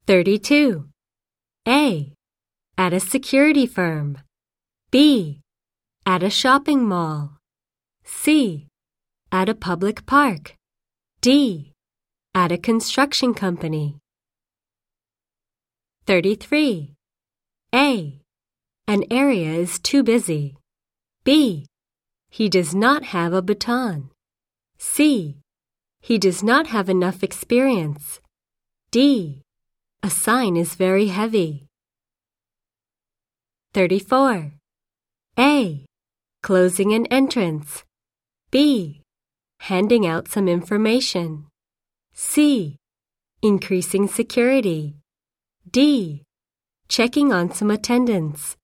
32. A. At a security firm. B. At a shopping mall. C. At a public park. D. At a construction company. 33. A. An area is too busy. B. He does not have a baton. C. He does not have enough experience. D. A sign is very heavy. 34. A. Closing an entrance. B. Handing out some information. C. Increasing security. D. Checking on some attendance.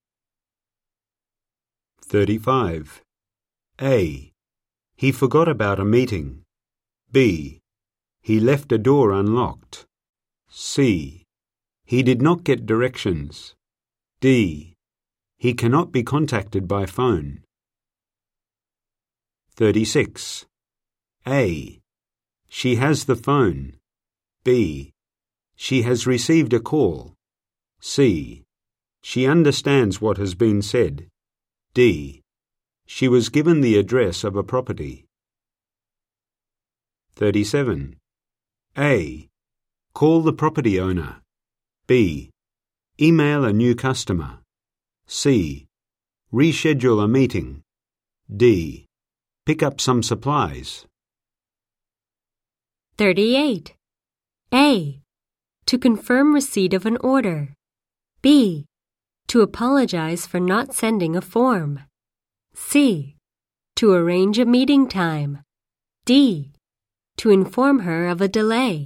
35. A. He forgot about a meeting. B. He left a door unlocked. C. He did not get directions. D. He cannot be contacted by phone. 36. A. She has the phone. B. She has received a call. C. She understands what has been said. D. She was given the address of a property. 37. A. Call the property owner. B. Email a new customer. C. Reschedule a meeting. D. Pick up some supplies. 38. A. To confirm receipt of an order. B. To apologize for not sending a form. C. To arrange a meeting time. D. To inform her of a delay.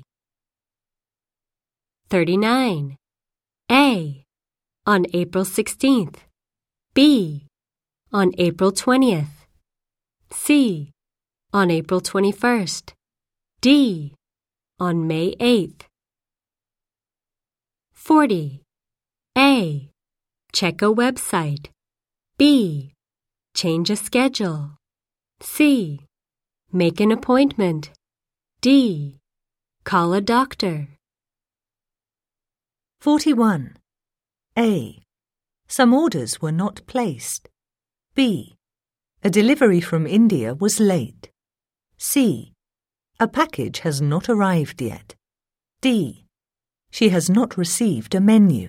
39. A. On April 16th. B. On April 20th. C. On April 21st. D. On May 8th. 40. A. Check a website. B. Change a schedule. C. Make an appointment. D. Call a doctor. 41. A. Some orders were not placed. B. A delivery from India was late. C. A package has not arrived yet. D. She has not received a menu.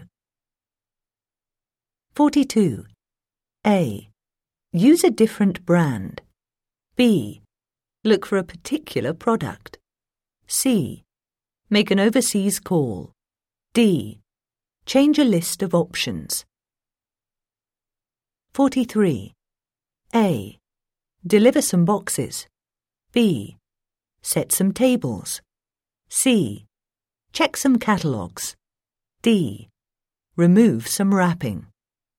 42. A. Use a different brand. B. Look for a particular product. C. Make an overseas call. D. Change a list of options. 43. A. Deliver some boxes. B. Set some tables. C. Check some catalogues. D. Remove some wrapping.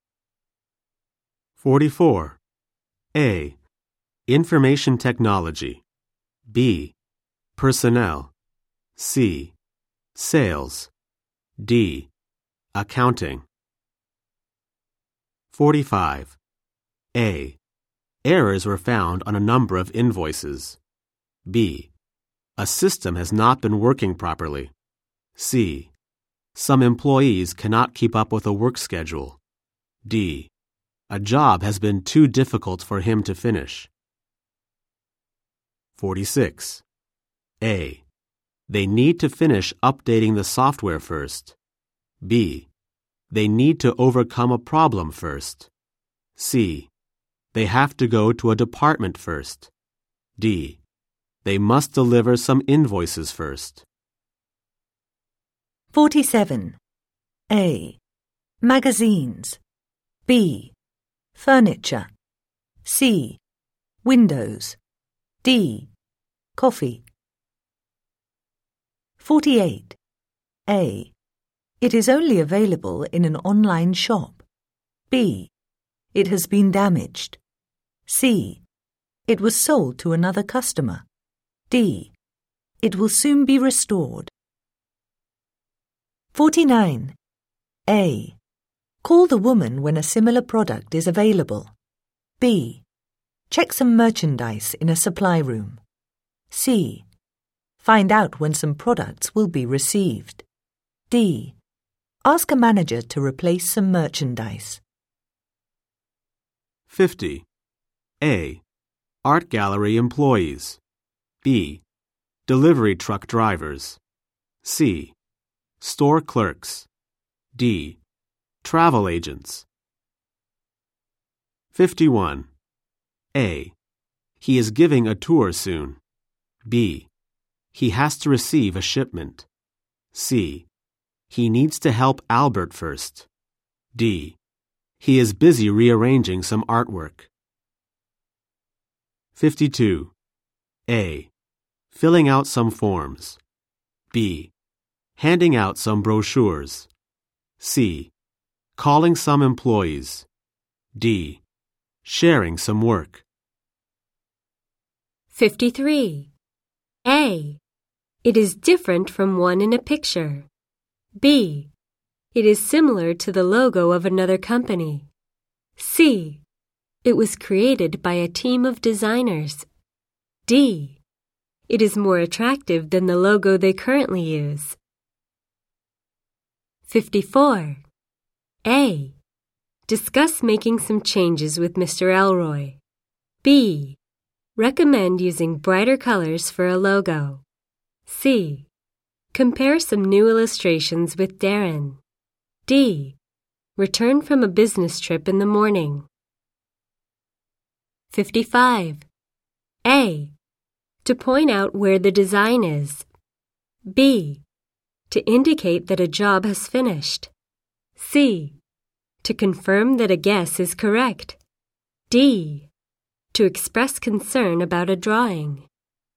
44. A. Information technology. B. Personnel. C. Sales. D. Accounting. 45. A. Errors were found on a number of invoices. B. A system has not been working properly. C. Some employees cannot keep up with a work schedule. D. A job has been too difficult for him to finish. 46. A. They need to finish updating the software first. B. They need to overcome a problem first. C. They have to go to a department first. D. They must deliver some invoices first. 47. A. Magazines. B. Furniture. C. Windows. D. Coffee. 48. A. It is only available in an online shop. B. It has been damaged. C. It was sold to another customer. D. It will soon be restored. 49. A. Call the woman when a similar product is available. B. Check some merchandise in a supply room. C. Find out when some products will be received. D. Ask a manager to replace some merchandise. 50. A. Art gallery employees. B. Delivery truck drivers. C. Store clerks. D. Travel agents. 51. A. He is giving a tour soon. B. He has to receive a shipment. C. He needs to help Albert first. D. He is busy rearranging some artwork. 52. A. Filling out some forms. B. Handing out some brochures. C. Calling some employees. D. Sharing some work. 53. A. It is different from one in a picture. B. It is similar to the logo of another company. C. It was created by a team of designers. D. It is more attractive than the logo they currently use. 54. A. Discuss making some changes with Mr. Elroy. B. Recommend using brighter colors for a logo. C. Compare some new illustrations with Darren. D. Return from a business trip in the morning. 55. A. To point out where the design is. B. To indicate that a job has finished. C. To confirm that a guess is correct. D. To express concern about a drawing.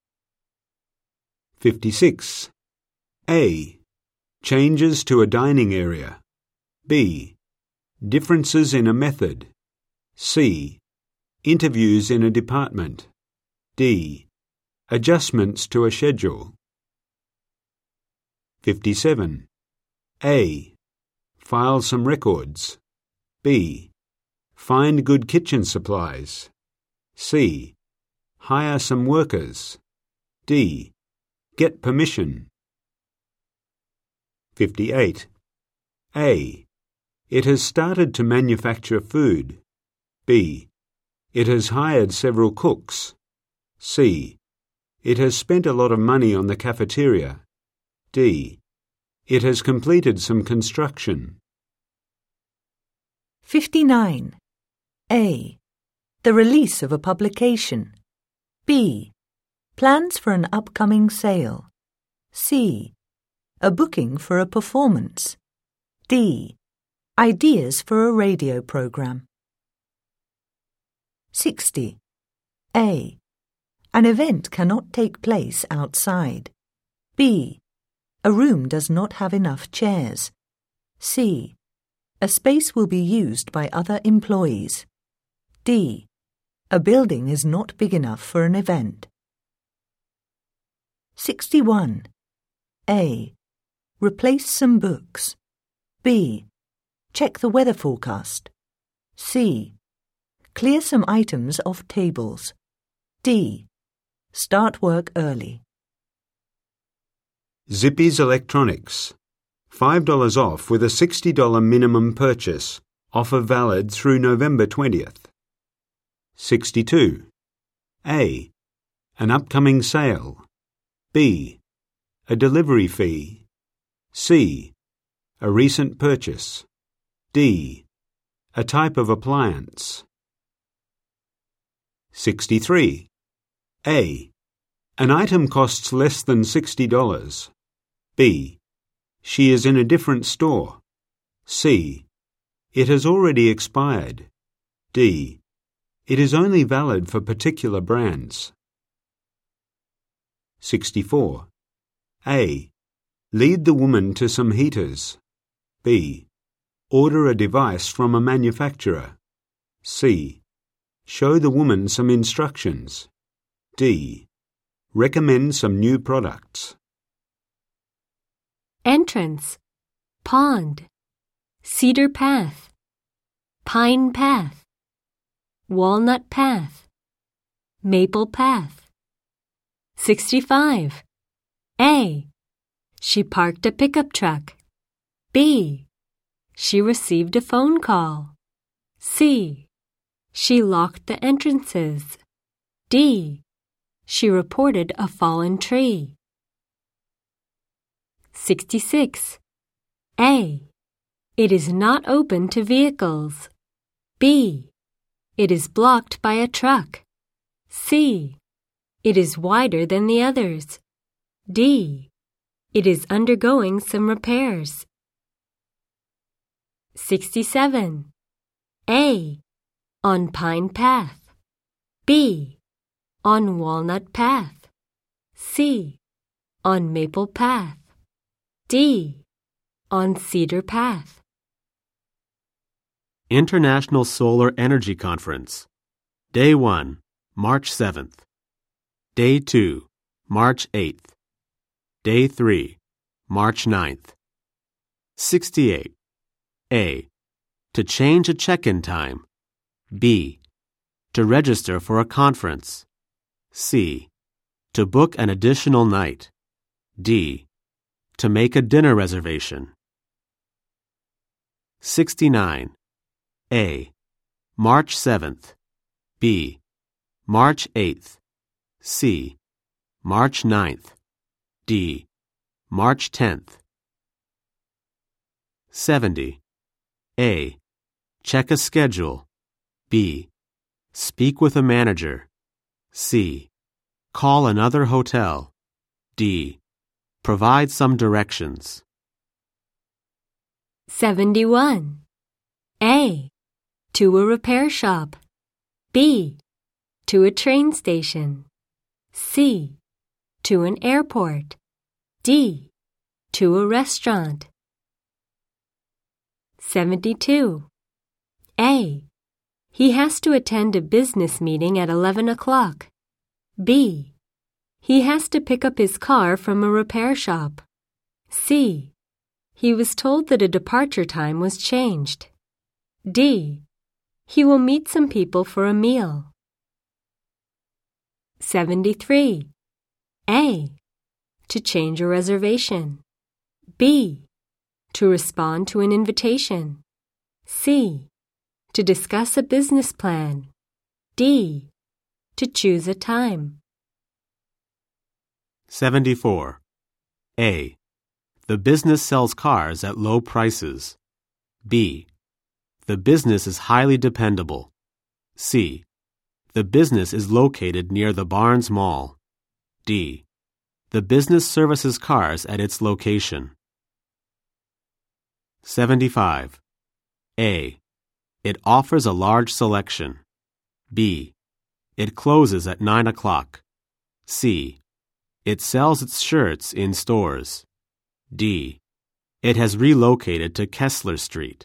56. A. Changes to a dining area. B. Differences in a method. C. Interviews in a department. D. Adjustments to a schedule. 57. A. File some records. B. Find good kitchen supplies. C. Hire some workers. D. Get permission. 58. A. It has started to manufacture food. B. It has hired several cooks. C. It has spent a lot of money on the cafeteria. D. It has completed some construction. 59. A. The release of a publication. B. Plans for an upcoming sale. C. A booking for a performance. D. Ideas for a radio program. 60. A. An event cannot take place outside. B. A room does not have enough chairs. C. A space will be used by other employees. D. A building is not big enough for an event. 61. A. Replace some books. B. Check the weather forecast. C. Clear some items off tables. D. Start work early. Zippy's Electronics. $5 off with a $60 minimum purchase. Offer valid through November 20th. 62. A. An upcoming sale. B. A delivery fee. C. A recent purchase. D. A type of appliance. 63. A. An item costs less than $60. B. She is in a different store. C. It has already expired. D. It is only valid for particular brands. 64. A. Lead the woman to some heaters. B. Order a device from a manufacturer. C. Show the woman some instructions. D. Recommend some new products. Entrance. Pond. Cedar path. Pine path. Walnut path. Maple path. 65. A. She parked a pickup truck. B. She received a phone call. C. She locked the entrances. D. She reported a fallen tree. 66. A. It is not open to vehicles. B. It is blocked by a truck. C. It is wider than the others. D. It is undergoing some repairs. 67. A. On Pine Path. B. On Walnut Path. C. On Maple Path. D. On Cedar Path. International Solar Energy Conference. Day 1, March 7th. Day 2, March 8th. Day 3, March 9th. 68. A. To change a check-in time. B. To register for a conference. C. To book an additional night. D. To make a dinner reservation. 69. A. March 7th. B. March 8th. C. March 9th. D. March 10th. 70. A. Check a schedule. B. Speak with a manager. C. Call another hotel. D. Provide some directions. 71. A. To a repair shop. B. To a train station. C. To an airport. D. To a restaurant. 72. A. He has to attend a business meeting at 11 o'clock. B. He has to pick up his car from a repair shop. C. He was told that a departure time was changed. D. He will meet some people for a meal. 73. A. To change a reservation. B. To respond to an invitation. C. To discuss a business plan. D. To choose a time. 74. A. The business sells cars at low prices. B. The business is highly dependable. C. The business is located near the Barnes Mall. D. The business services cars at its location. 75. A. It offers a large selection. B. It closes at 9 o'clock. C. It sells its shirts in stores. D. It has relocated to Kessler Street.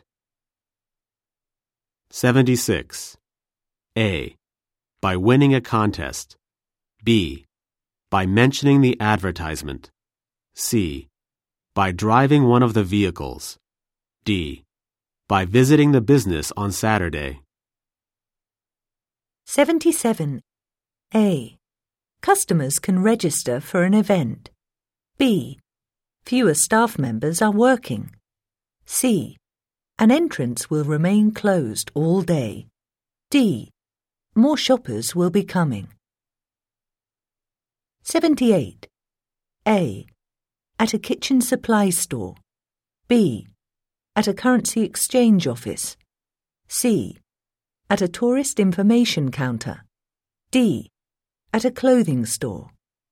76. A. By winning a contest. B. By mentioning the advertisement. C. By driving one of the vehicles. D. By visiting the business on Saturday. 77. A. Customers can register for an event. B. Fewer staff members are working. C. An entrance will remain closed all day. D. More shoppers will be coming. 78. A. At a kitchen supply store. B. At a currency exchange office. C. At a tourist information counter. D. At a clothing store.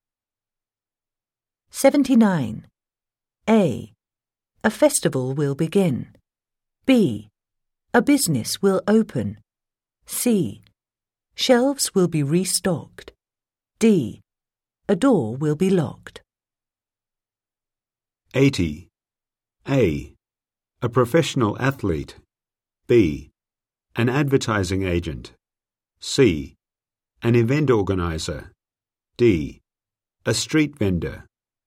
79. A. A festival will begin. B. A business will open. C. Shelves will be restocked. D. A door will be locked. 80. A. A professional athlete. B. An advertising agent. C. An event organizer. D. A street vendor.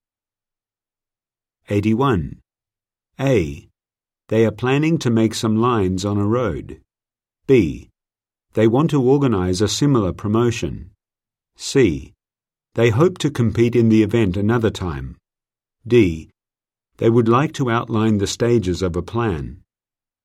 81. A. They are planning to make some lines on a road. B. They want to organize a similar promotion. C. They hope to compete in the event another time. D. They would like to outline the stages of a plan.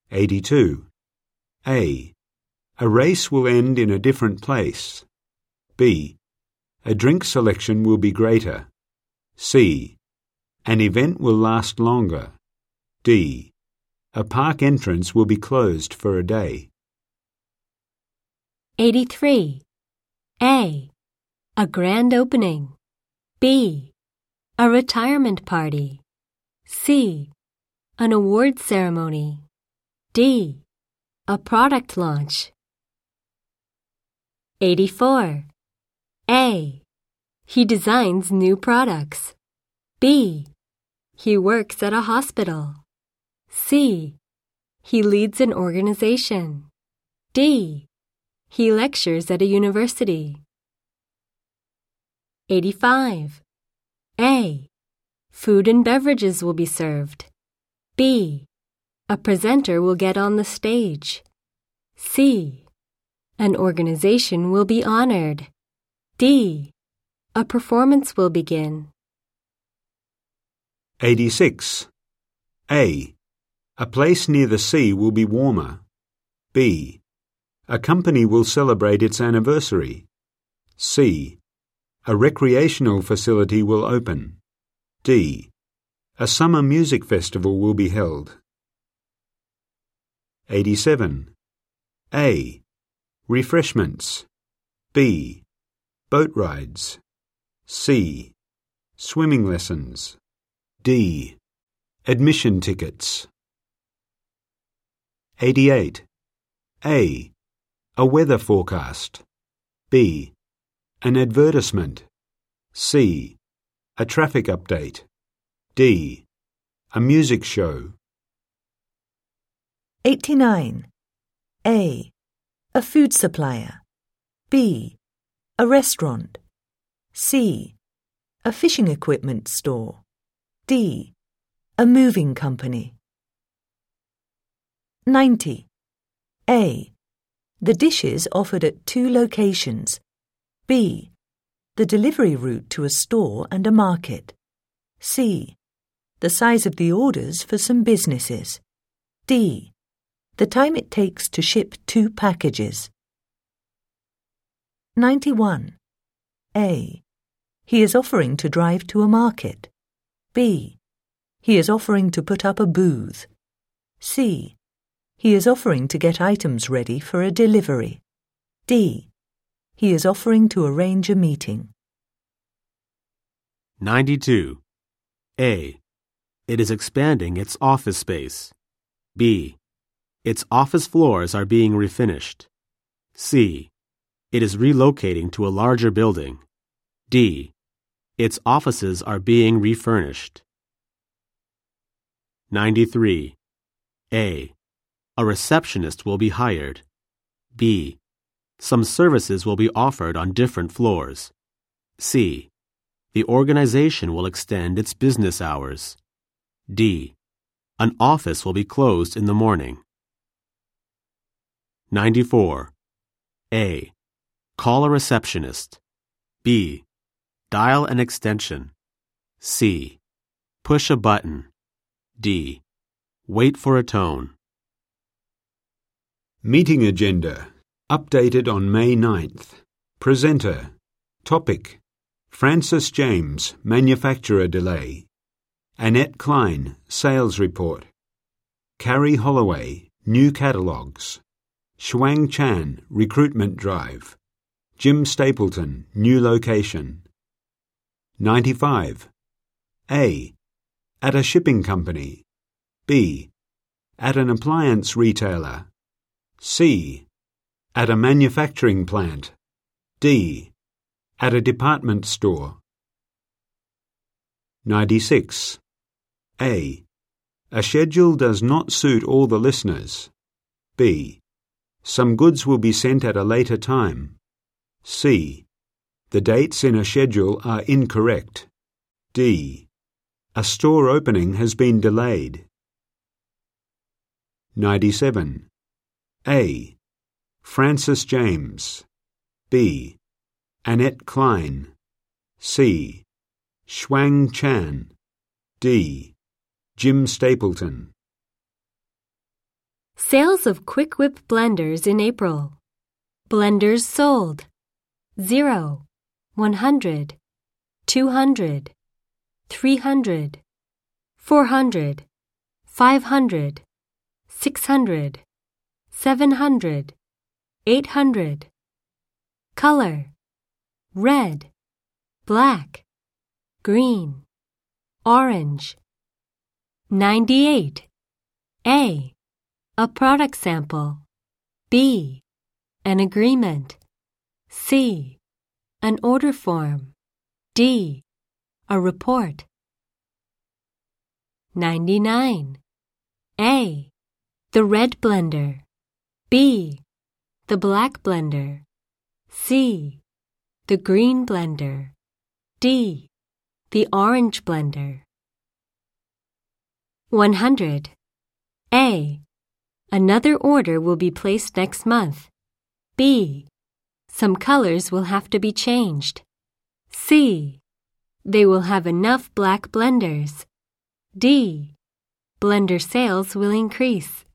82. A race will end in a different place. B. A drink selection will be greater. C. An event will last longer. D. A park entrance will be closed for a day. 83. A grand opening. B. A retirement party. C. An award ceremony. D. A product launch. 84. A. He designs new products. B. He works at a hospital. C. He leads an organization. D. He lectures at a university. 85. A. Food and beverages will be served. B. A presenter will get on the stage. C. An organization will be honored. D. A performance will begin. 86. A place near the sea will be warmer. B. A company will celebrate its anniversary. C. A recreational facility will open. D. A summer music festival will be held. 87. A. Refreshments. B. Boat rides. C. Swimming lessons. D. Admission tickets. 88. A weather forecast. B. An advertisement. C. A traffic update. D. A music show. 89. A food supplier. B. A restaurant. C. A fishing equipment store. D. A moving company. 90. A. The dishes offered at 2 locations. B. The delivery route to a store and a market. C. The size of the orders for some businesses. D. The time it takes to ship 2 packages. 91. A. He is offering to drive to a market. B. He is offering to put up a booth. C. He is offering to get items ready for a delivery. D. He is offering to arrange a meeting. 92. A. It is expanding its office space. B. Its office floors are being refinished. C. It is relocating to a larger building. D. Its offices are being refurnished. 93. A receptionist will be hired. B. Some services will be offered on different floors. C. The organization will extend its business hours. D. An office will be closed in the morning. 94. A. Call a receptionist. B. Dial an extension. C. Push a button. D. Wait for a tone. Meeting agenda. Updated on May 9th. Presenter. Topic. Francis James, manufacturer delay. Annette Klein, sales report. Carrie Holloway, new catalogues. Shuang Chan, recruitment drive. Jim Stapleton, new location. 95. A. At a shipping company. B. At an appliance retailer. C. At a manufacturing plant. D. At a department store. 96. A schedule does not suit all the listeners. B. Some goods will be sent at a later time. C. The dates in a schedule are incorrect. D. A store opening has been delayed. 97. A. Francis James. B. Annette Klein. C. Shuang Chan. D. Jim Stapleton. Sales of Quick Whip blenders in April. Blenders sold 0, 100, 200, 300, 400, 500, 600, 700, 800. Color: red, black, green, orange. 98. A. A product sample. B. An agreement. C. An order form. D. A report. 99. A. The red blender. B. The black blender. C. The green blender. D. The orange blender. 100. A. Another order will be placed next month. B. Some colors will have to be changed. C. They will have enough black blenders. D. Blender sales will increase.